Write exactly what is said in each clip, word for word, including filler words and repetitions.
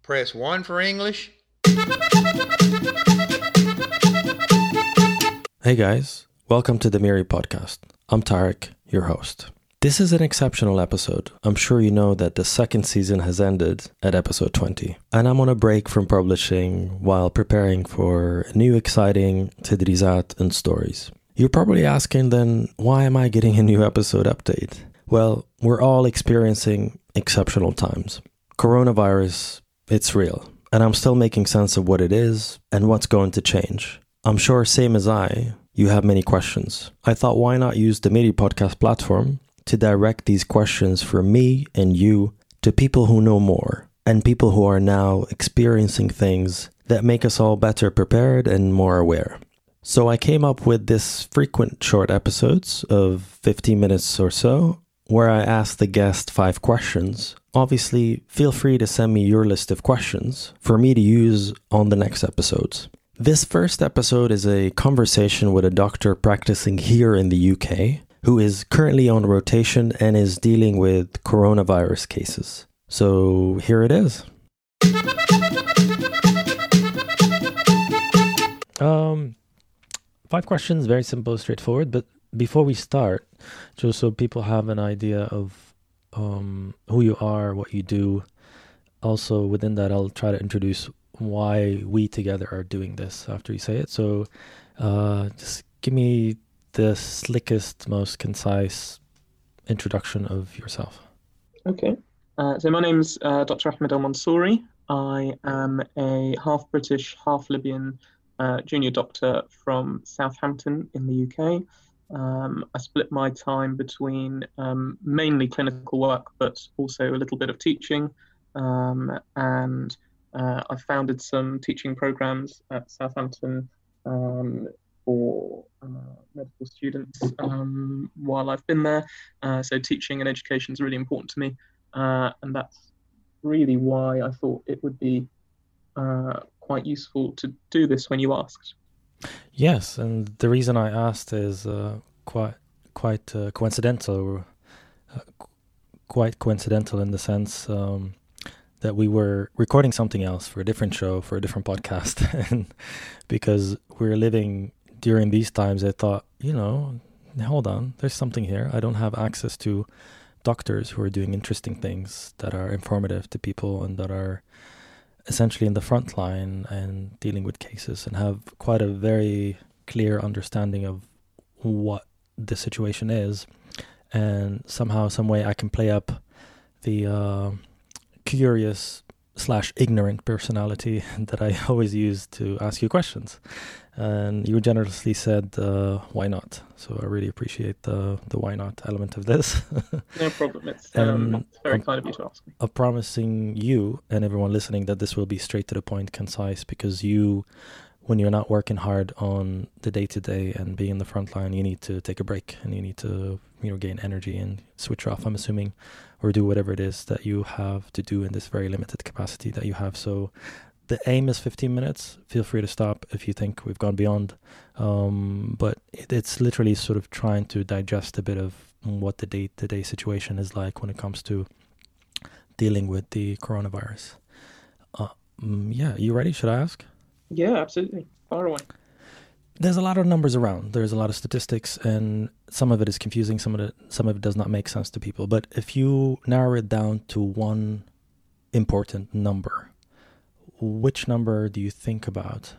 Press one for English. Hey guys, welcome to the Miri podcast. I'm Tarek, your host. This is an exceptional episode. I'm sure you know that the second season has ended at episode twenty, and I'm on a break from publishing while preparing for new exciting Tadrizat and stories. You're probably asking then, why am I getting a new episode update? Well, we're all experiencing exceptional times. Coronavirus, it's real, and I'm still making sense of what it is and what's going to change. I'm sure, same as I, you have many questions. I thought, why not use the Miri podcast platform to direct these questions from me and you to people who know more and people who are now experiencing things that make us all better prepared and more aware. So I came up with this frequent short episodes of fifteen minutes or so, where I ask the guest five questions. Obviously, feel free to send me your list of questions for me to use on the next episodes. This first episode is a conversation with a doctor practicing here in the U K who is currently on rotation and is dealing with coronavirus cases. So here it is. Um, five questions, very simple, straightforward, but before we start, just so people have an idea of um, who you are, what you do. Also, within that, I'll try to introduce why we together are doing this after you say it. So uh, just give me the slickest, most concise introduction of yourself. Okay. Uh, so my name's uh, Doctor Ahmed El Mansouri. I am a half British, half Libyan uh, junior doctor from Southampton in the U K. Um, I split my time between um, mainly clinical work, but also a little bit of teaching. Um, and uh, I founded some teaching programs at Southampton um, for uh, medical students um, while I've been there. Uh, so teaching and education is really important to me. Uh, and that's really why I thought it would be uh, quite useful to do this when you asked. Yes, and the reason I asked is uh, quite quite uh, coincidental, uh, qu- quite coincidental in the sense um, that we were recording something else for a different show, for a different podcast, and because we're living during these times, I thought, you know, hold on, there's something here. I don't have access to doctors who are doing interesting things that are informative to people and that are essentially in the front line and dealing with cases and have quite a very clear understanding of what the situation is. And somehow, some way I can play up the uh, curious slash ignorant personality that I always use to ask you questions. And you generously said, uh, why not? So I really appreciate the the why not element of this. No problem. It's, um, it's very I'm, kind of you to ask me. I'm promising you and everyone listening that this will be straight to the point, concise, because you, when you're not working hard on the day-to-day and being in the front line, you need to take a break and you need to, you know, gain energy and switch off, I'm assuming, or do whatever it is that you have to do in this very limited capacity that you have. So the aim is fifteen minutes. Feel free to stop if you think we've gone beyond. Um, but it, it's literally sort of trying to digest a bit of what the day-to-day situation is like when it comes to dealing with the coronavirus. Uh, mm, yeah, you ready? Should I ask? Yeah, absolutely. Far away. There's a lot of numbers around. There's a lot of statistics, and some of it is confusing. Some of it, some of it does not make sense to people. But if you narrow it down to one important number, which number do you think about,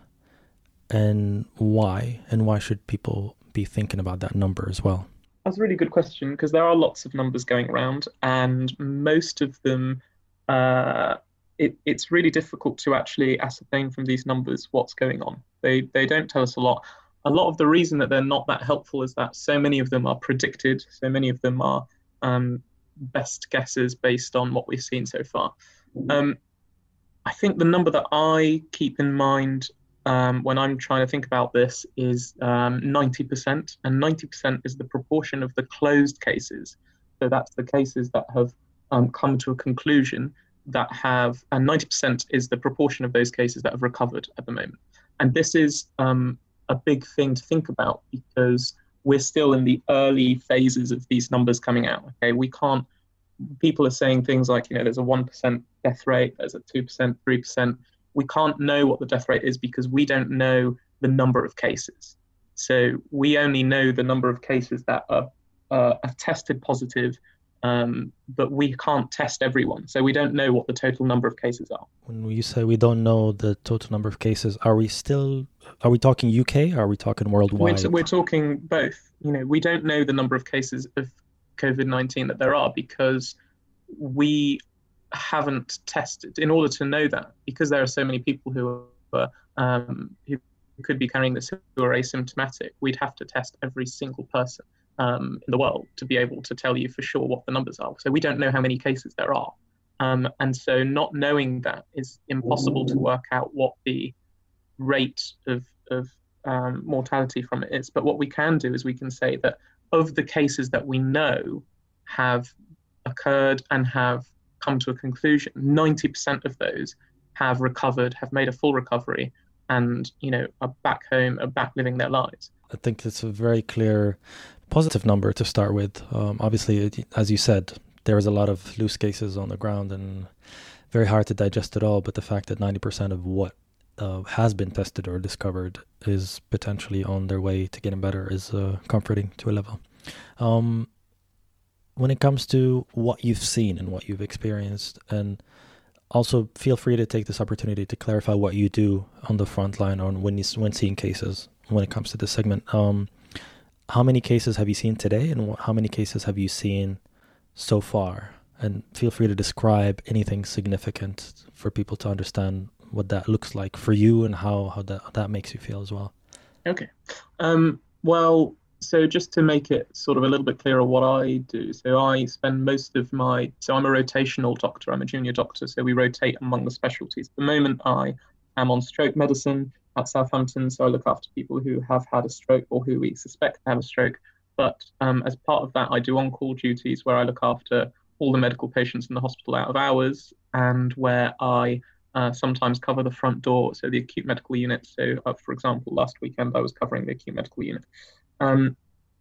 and why? And why should people be thinking about that number as well? That's a really good question, because there are lots of numbers going around, and most of them, uh, it, it's really difficult to actually ascertain from these numbers what's going on. They they don't tell us a lot. A lot of the reason that they're not that helpful is that so many of them are predicted. So many of them are um, best guesses based on what we've seen so far. Um, I think the number that I keep in mind um, when I'm trying to think about this is um, ninety percent, and ninety percent is the proportion of the closed cases. So that's the cases that have um, come to a conclusion that have, and ninety percent is the proportion of those cases that have recovered at the moment. And this is um, a big thing to think about, because we're still in the early phases of these numbers coming out. Okay, we can't people are saying things like, you know, there's a one percent death rate, there's a two percent, three percent. We can't know what the death rate is because we don't know the number of cases. So we only know the number of cases that are, uh, are tested positive, um, but we can't test everyone. So we don't know what the total number of cases are. When you say we don't know the total number of cases, are we still, are we talking U K? Or are we talking worldwide? We're, we're talking both. You know, we don't know the number of cases of COVID nineteen that there are because we haven't tested. In order to know that, because there are so many people who are um, who could be carrying this who are asymptomatic, we'd have to test every single person um, in the world to be able to tell you for sure what the numbers are. So we don't know how many cases there are. Um, and so not knowing that is impossible to work out what the rate of, of um, mortality from it is. But what we can do is we can say that of the cases that we know have occurred and have come to a conclusion, ninety percent of those have recovered, have made a full recovery, and, you know, are back home, are back living their lives. I think it's a very clear positive number to start with. Um, obviously, as you said, there is a lot of loose cases on the ground and very hard to digest it all. But the fact that ninety percent of what uh, has been tested or discovered is potentially on their way to getting better is uh, comforting to a level. Um, when it comes to what you've seen and what you've experienced, and also feel free to take this opportunity to clarify what you do on the front line on when you, when seeing cases when it comes to this segment. Um, how many cases have you seen today, and how many cases have you seen so far? And feel free to describe anything significant for people to understand what that looks like for you and how, how that, that makes you feel as well. Okay. Um, well, so just to make it sort of a little bit clearer what I do. So I spend most of my, so I'm a rotational doctor, I'm a junior doctor, so we rotate among the specialties. At the moment I am on stroke medicine at Southampton, so I look after people who have had a stroke or who we suspect have a stroke. But um, as part of that, I do on-call duties where I look after all the medical patients in the hospital out of hours, and where I uh, sometimes cover the front door, so the acute medical unit. So uh, for example, last weekend I was covering the acute medical unit. Um,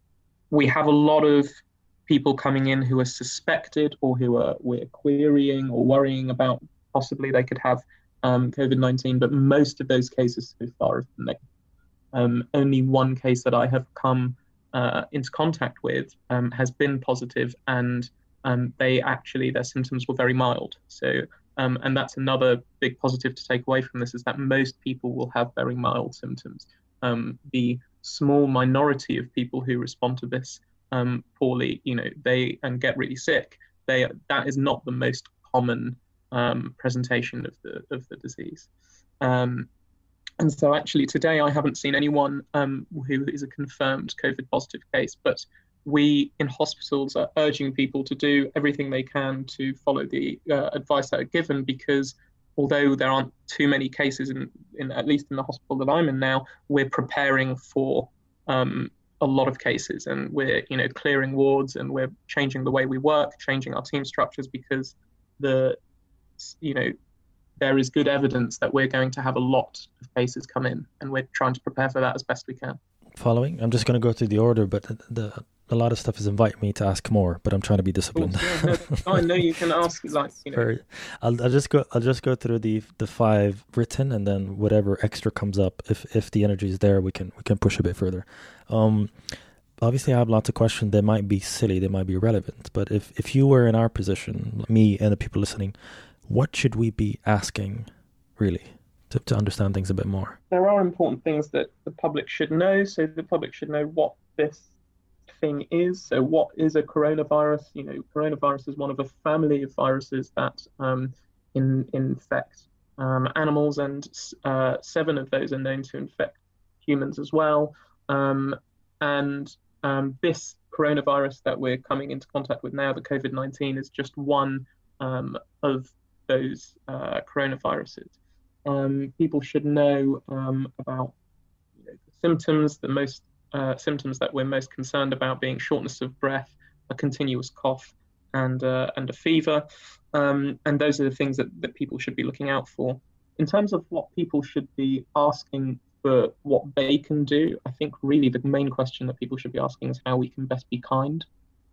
we have a lot of people coming in who are suspected or who are we're querying or worrying about possibly they could have um, COVID nineteen, but most of those cases so far have been negative. Um, only one case that I have come uh, into contact with um, has been positive, and um, they actually, their symptoms were very mild. So, um, and that's another big positive to take away from this, is that most people will have very mild symptoms. Um, the small minority of people who respond to this um, poorly, you know, they and get really sick, they that is not the most common um, presentation of the of the disease. Um, and so actually today I haven't seen anyone um, who is a confirmed COVID positive case, but we in hospitals are urging people to do everything they can to follow the uh, advice that are given, because although there aren't too many cases in, in at least in the hospital that I'm in now, we're preparing for um, a lot of cases, and we're, you know, clearing wards, and we're changing the way we work, changing our team structures, because the, you know, there is good evidence that we're going to have a lot of cases come in, and we're trying to prepare for that as best we can. Following, I'm just going to go through the order, but the, the a lot of stuff is inviting me to ask more, but I'm trying to be disciplined. Oh, yeah, no, I know you can ask, like, you know. I'll, I'll just go. I'll just go through the the five written, and then whatever extra comes up, if if the energy is there, we can we can push a bit further. Um, obviously, I have lots of questions. They might be silly, they might be irrelevant, but if if you were in our position, me and the people listening, what should we be asking, really, to to understand things a bit more? There are important things that the public should know. So the public should know what this thing is. So what is a coronavirus? You know, coronavirus is one of a family of viruses that um, in, infect um, animals, and uh, seven of those are known to infect humans as well. Um, and um, this coronavirus that we're coming into contact with now, the COVID nineteen, is just one um, of those uh, coronaviruses. Um, people should know um, about, you know, the symptoms, the most Uh, symptoms that we're most concerned about being shortness of breath, a continuous cough, and uh, and a fever. Um, and those are the things that, that people should be looking out for. In terms of what people should be asking for what they can do, I think really the main question that people should be asking is how we can best be kind.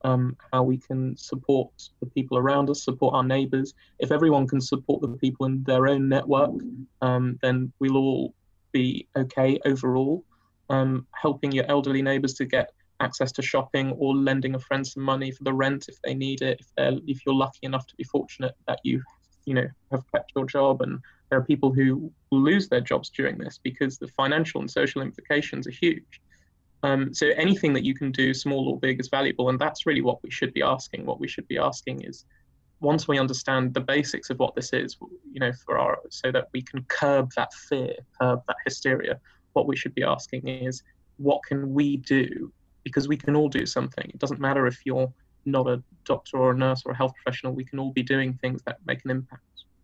um, how we can support the people around us, support our neighbours. If everyone can support the people in their own network, um, then we'll all be okay overall. Um, helping your elderly neighbours to get access to shopping, or lending a friend some money for the rent if they need it. If they're, if you're lucky enough to be fortunate that you, you know, have kept your job, and there are people who will lose their jobs during this because the financial and social implications are huge. Um, so anything that you can do, small or big, is valuable, and that's really what we should be asking. What we should be asking is, once we understand the basics of what this is, you know, for our, so that we can curb that fear, curb that hysteria. What we should be asking is, what can we do? Because we can all do something. It doesn't matter if you're not a doctor or a nurse or a health professional. We can all be doing things that make an impact.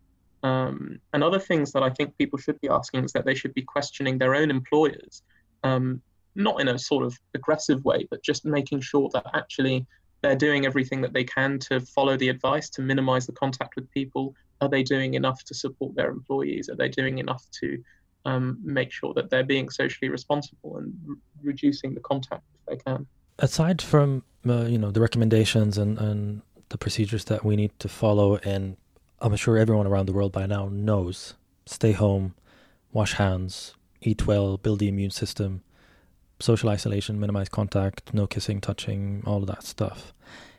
Um, and other things that I think people should be asking is that they should be questioning their own employers, um, not in a sort of aggressive way, but just making sure that actually they're doing everything that they can to follow the advice, to minimize the contact with people. Are they doing enough to support their employees? Are they doing enough to um, make sure that they're being socially responsible and re- reducing the contact if they can? Aside from uh, you know, the recommendations and, and the procedures that we need to follow, and I'm sure everyone around the world by now knows, stay home, wash hands, eat well, build the immune system, social isolation, minimize contact, no kissing, touching, all of that stuff.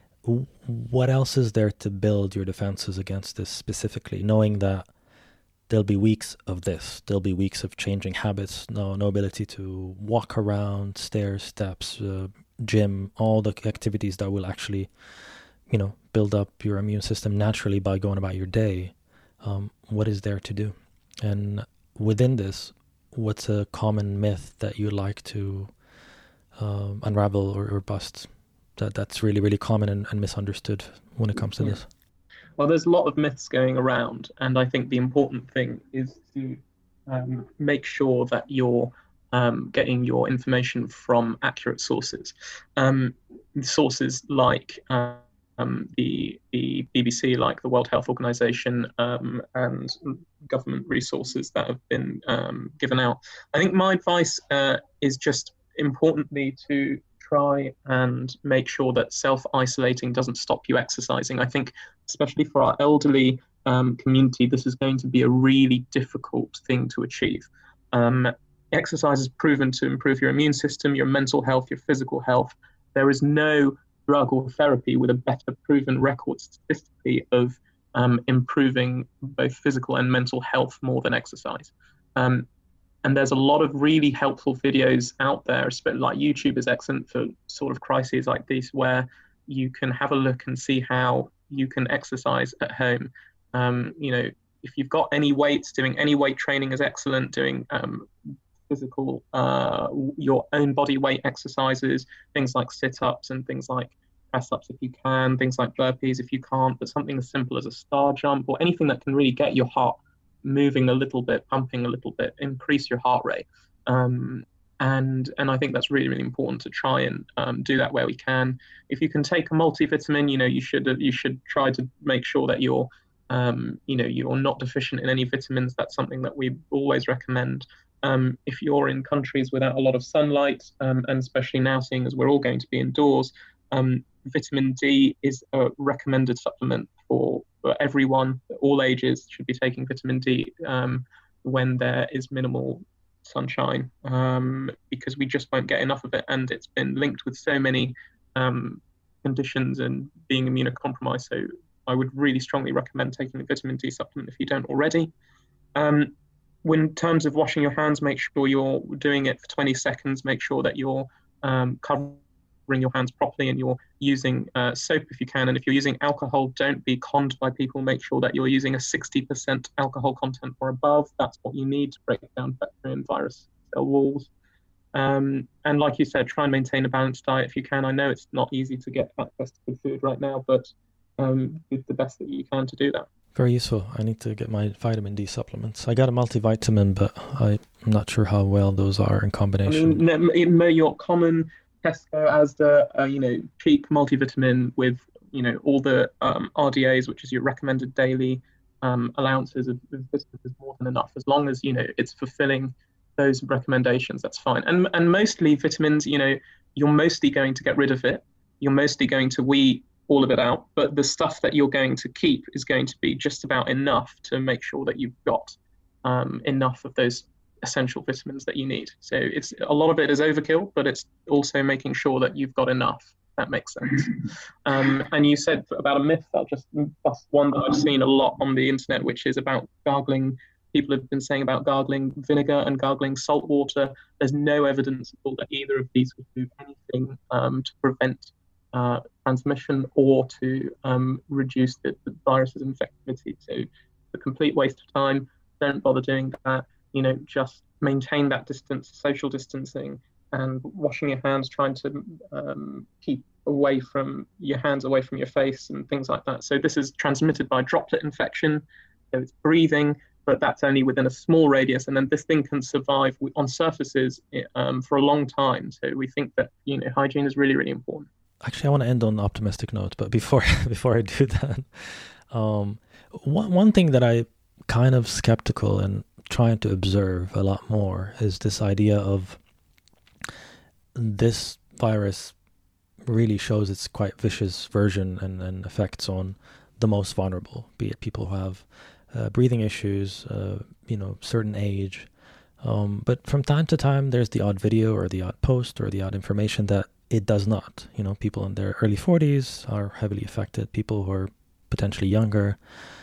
What else is there to build your defenses against this specifically, knowing that there'll be weeks of this, there'll be weeks of changing habits, no no ability to walk around, stairs, steps, uh, gym, all the activities that will actually, you know, build up your immune system naturally by going about your day. Um, what is there to do? And within this, what's a common myth that you'd like to um, unravel or, or bust that that's really, really common and, and misunderstood when it comes to Yeah. this? Well, there's a lot of myths going around, and I think the important thing is to um, make sure that you're um, getting your information from accurate sources. Um, sources like uh, um, the, the B B C, like the World Health Organization, um, and government resources that have been um, given out. I think my advice uh, is just importantly to try and make sure that self-isolating doesn't stop you exercising. I think, especially for our elderly um, community, this is going to be a really difficult thing to achieve. Um, exercise is proven to improve your immune system, your mental health, your physical health. There is no drug or therapy with a better proven record statistically of um, improving both physical and mental health more than exercise. Um, And there's a lot of really helpful videos out there, like YouTube is excellent for sort of crises like these, where you can have a look and see how you can exercise at home. Um, you know, if you've got any weights, doing any weight training is excellent. Doing um, physical, uh, your own body weight exercises, things like sit-ups and things like press-ups if you can, things like burpees if you can't, but something as simple as a star jump or anything that can really get your heart moving a little bit, pumping a little bit, increase your heart rate. Um, and and I think that's really, really important to try and um, do that where we can. If you can take a multivitamin, you know, you should you should try to make sure that you're, um, you know, you're not deficient in any vitamins. That's something that we always recommend. Um, if you're in countries without a lot of sunlight, um, and especially now seeing as we're all going to be indoors, um, vitamin D is a recommended supplement for, for everyone. All ages should be taking vitamin D um, when there is minimal sunshine, um, because we just won't get enough of it. And it's been linked with so many um, conditions and being immunocompromised. So I would really strongly recommend taking a vitamin D supplement if you don't already. Um, in terms of washing your hands, make sure you're doing it for twenty seconds. Make sure that you're um, covering your hands properly and you're using uh, soap if you can. And if you're using alcohol, don't be conned by people. Make sure that you're using a sixty percent alcohol content or above. That's what you need to break down bacteria and virus cell walls. Um, and like you said, try and maintain a balanced diet if you can. I know it's not easy to get access to good food right now, but um, do the best that you can to do that. Very useful. I need to get my vitamin D supplements. I got a multivitamin, but I'm not sure how well those are in combination. I mean, your common Tesco, Asda, uh, you know, cheap multivitamin with, you know, all the um, R D As, which is your recommended daily um, allowances of vitamins, is more than enough. As long as, you know, it's fulfilling those recommendations, that's fine. And and mostly vitamins, you know, you're mostly going to get rid of it. you're mostly going to weed all of it out, but the stuff that you're going to keep is going to be just about enough to make sure that you've got um, enough of those essential vitamins that you need. So it's a lot of it is overkill, but it's also making sure that you've got enough. That makes sense. Um, and you said about a myth, I'll just bust one that I've seen a lot on the internet, which is about gargling. People have been saying about gargling vinegar and gargling salt water. There's no evidence at all that either of these would do anything um, to prevent uh, transmission or to um, reduce the, the virus's infectivity. So it's a complete waste of time. Don't bother doing that. You know, just maintain that distance, social distancing, and washing your hands, trying to um, keep away from your hands away from your face and things like that. So this is transmitted by droplet infection. So it's breathing, but that's only within a small radius. And then this thing can survive on surfaces um, for a long time. So we think that, you know, hygiene is really, really important. Actually, I want to end on an optimistic note, but before before I do that, um, one one thing that I kind of skeptical and trying to observe a lot more is this idea of this virus really shows its quite vicious version and, and effects on the most vulnerable, be it people who have uh, breathing issues, uh, you know, certain age. Um, but from time to time, there's the odd video or the odd post or the odd information that it does not. You know, people in their early forties are heavily affected, people who are potentially younger.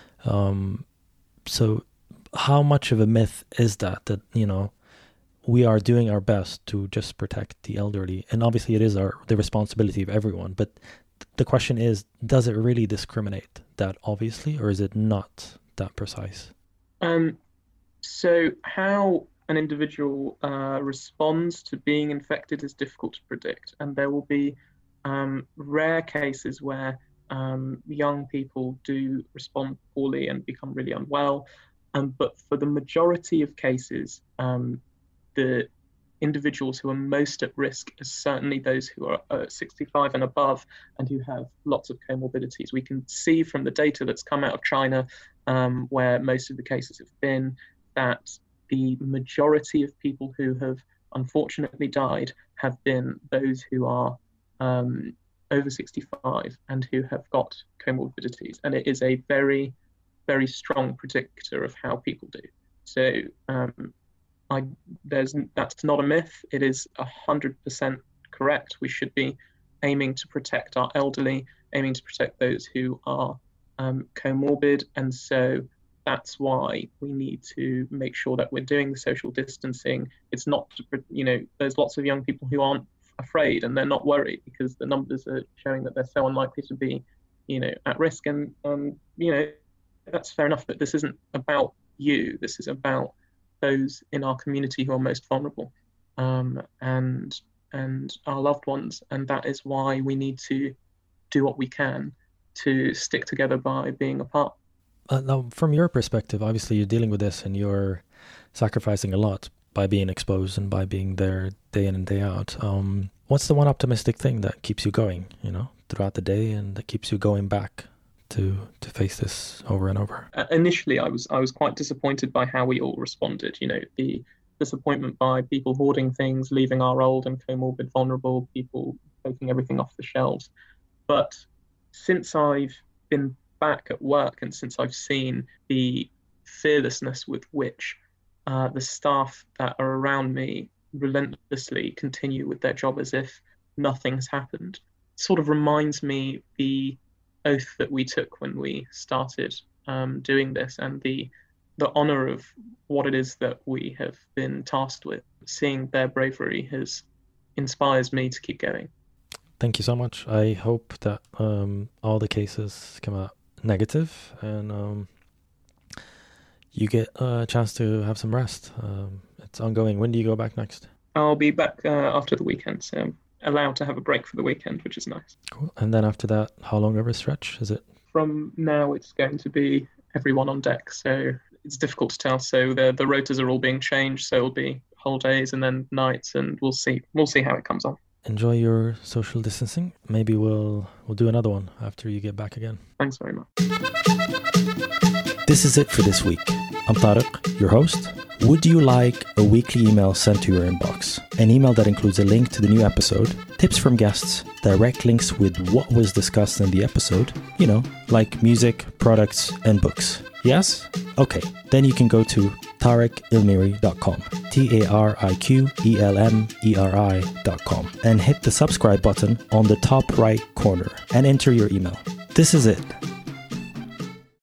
Um, so how much of a myth is that, that, you know, we are doing our best to just protect the elderly? And obviously it is our the responsibility of everyone. But the question is, does it really discriminate that obviously, or is it not that precise? Um, so how an individual uh, responds to being infected is difficult to predict. And there will be um, rare cases where um, young people do respond poorly and become really unwell. Um, but for the majority of cases, um, the individuals who are most at risk are certainly those who are uh, sixty-five and above and who have lots of comorbidities. We can see from the data that's come out of China, um, where most of the cases have been, that the majority of people who have unfortunately died have been those who are um, over sixty-five and who have got comorbidities. And it is a very, very strong predictor of how people do. So um, I, there's that's not a myth. It is one hundred percent correct. We should be aiming to protect our elderly, aiming to protect those who are um, comorbid. And so that's why we need to make sure that we're doing the social distancing. It's not, to, you know, there's lots of young people who aren't afraid and they're not worried because the numbers are showing that they're so unlikely to be, you know, at risk. And, um, you know, that's fair enough, but this isn't about you. This is about those in our community who are most vulnerable, um, and and our loved ones. And that is why we need to do what we can to stick together by being apart. Uh, now, from your perspective, obviously you're dealing with this and you're sacrificing a lot by being exposed and by being there day in and day out. Um, what's the one optimistic thing that keeps you going, you know, throughout the day and that keeps you going back to to face this over and over? Uh, initially, I was I was quite disappointed by how we all responded. You know, the disappointment by people hoarding things, leaving our old and comorbid vulnerable people, taking everything off the shelves. But since I've been back at work and since I've seen the fearlessness with which uh, the staff that are around me relentlessly continue with their job as if nothing's happened, it sort of reminds me the oath that we took when we started um, doing this and the the honor of what it is that we have been tasked with. Seeing their bravery has inspires me to keep going. Thank you so much. I hope that um, all the cases come out negative and um, you get a chance to have some rest. Um, it's ongoing. When do you go back next? I'll be back uh, after the weekend, so I'm allowed to have a break for the weekend, which is nice. Cool. And then after that, how long of a stretch is it? From now, it's going to be everyone on deck, so it's difficult to tell. So the the rotors are all being changed, so it'll be whole days and then nights, and we'll see. We'll see how it comes on. Enjoy your social distancing. Maybe we'll we'll do another one after you get back again. Thanks very much. This is it for this week. I'm Tariq, your host. Would you like a weekly email sent to your inbox? An email that includes a link to the new episode, tips from guests, direct links with what was discussed in the episode, you know, like music, products, and books. Yes? Okay, then you can go to tariq elmeri dot com, T A R I Q E L M E R I dot com, and hit the subscribe button on the top right corner and enter your email. This is it.